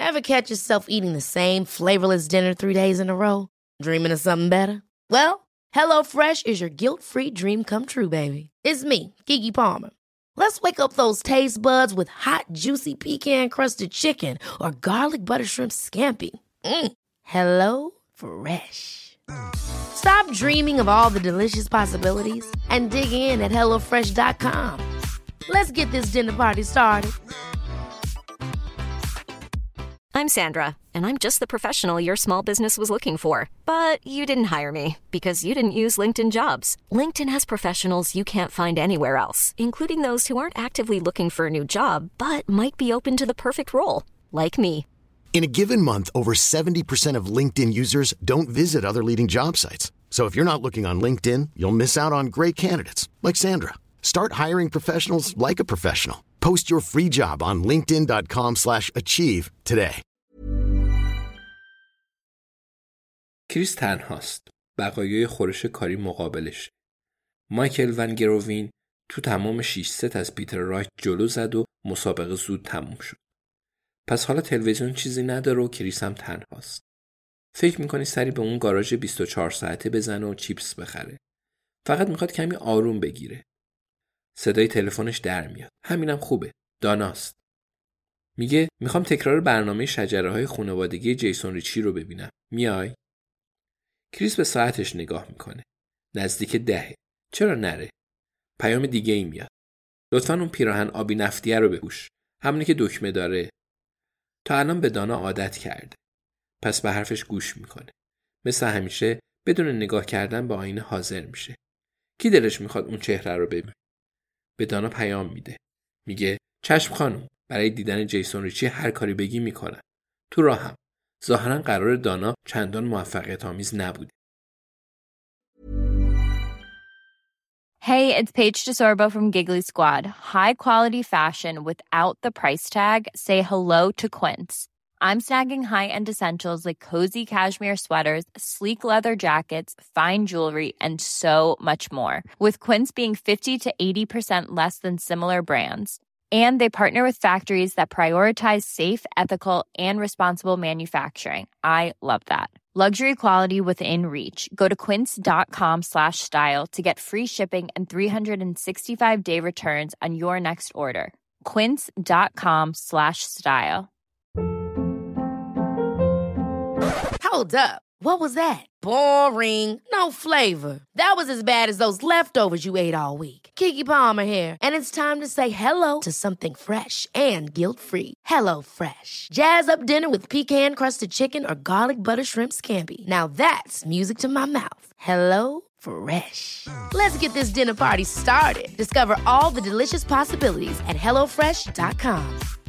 Ever catch yourself eating the same flavorless dinner 3 days in a row? Dreaming of something better? Well, HelloFresh is your guilt-free dream come true, baby. It's me, Keke Palmer. Let's wake up those taste buds with hot, juicy pecan-crusted chicken or garlic butter shrimp scampi. HelloFresh. Stop dreaming of all the delicious possibilities and dig in at HelloFresh.com. Let's get this dinner party started. I'm Sandra, and I'm just the professional your small business was looking for. But you didn't hire me because you didn't use LinkedIn Jobs. LinkedIn has professionals you can't find anywhere else, including those who aren't actively looking for a new job, but might be open to the perfect role, like me. In a given month, over 70% of LinkedIn users don't visit other leading job sites. So if you're not looking on LinkedIn, you'll miss out on great candidates like Sandra. Start hiring professionals like a professional. Post your free job on linkedin.com/achieve today. کریس تنهاست. بقایای خورش کاری مقابلش. مایکل ون گروین تو تمام 6 ست از پیتر رایت جلو زد و مسابقه زود تموم شد. پس حالا تلویزیون چیزی نداره و کریس هم تنهاست. فکر میکنی سری به اون گاراژ 24 ساعته بزنه و چیپس بخره. فقط میخواد کمی آروم بگیره. صدای تلفنش در میاد. همینم خوبه. داناست. میگه میخوام تکرار برنامه شجره‌های خانوادگی جیسون ریچی رو ببینم. میای؟ کریس به ساعتش نگاه میکنه. نزدیک 10. چرا نره؟ پیام دیگه ای میاد. لطفاً اون پیراهن آبی نفتیه رو بپوش. همونی که دکمه داره. تا الان به دانا عادت کرده. پس به حرفش گوش میکنه. مثل همیشه بدون نگاه کردن به آینه حاضر میشه. کی دلش میخواد اون چهره رو ببینه؟ به دانا پیام میده. میگه چشم خانم، برای دیدن جیسون ریچی هر کاری بگی میکنم. تو راهم. ظاهرا قرار دانا چندان موفقیت آمیز نبوده. Hey, it's Paige DeSorbo from Giggly Squad. High quality fashion without the price tag. Say hello to Quince. I'm snagging high-end essentials like cozy cashmere sweaters, sleek leather jackets, fine jewelry, and so much more. With Quince being 50 to 80% less than similar brands. And they partner with factories that prioritize safe, ethical, and responsible manufacturing. I love that. Luxury quality within reach. Go to quince.com/style to get free shipping and 365-day returns on your next order. Quince.com/style. Hold up. What was that? Boring. No flavor. That was as bad as those leftovers you ate all week. Keke Palmer here, and it's time to say hello to something fresh and guilt-free. HelloFresh. Jazz up dinner with pecan-crusted chicken or garlic butter shrimp scampi. Now that's music to my mouth. HelloFresh. Let's get this dinner party started. Discover all the delicious possibilities at HelloFresh.com.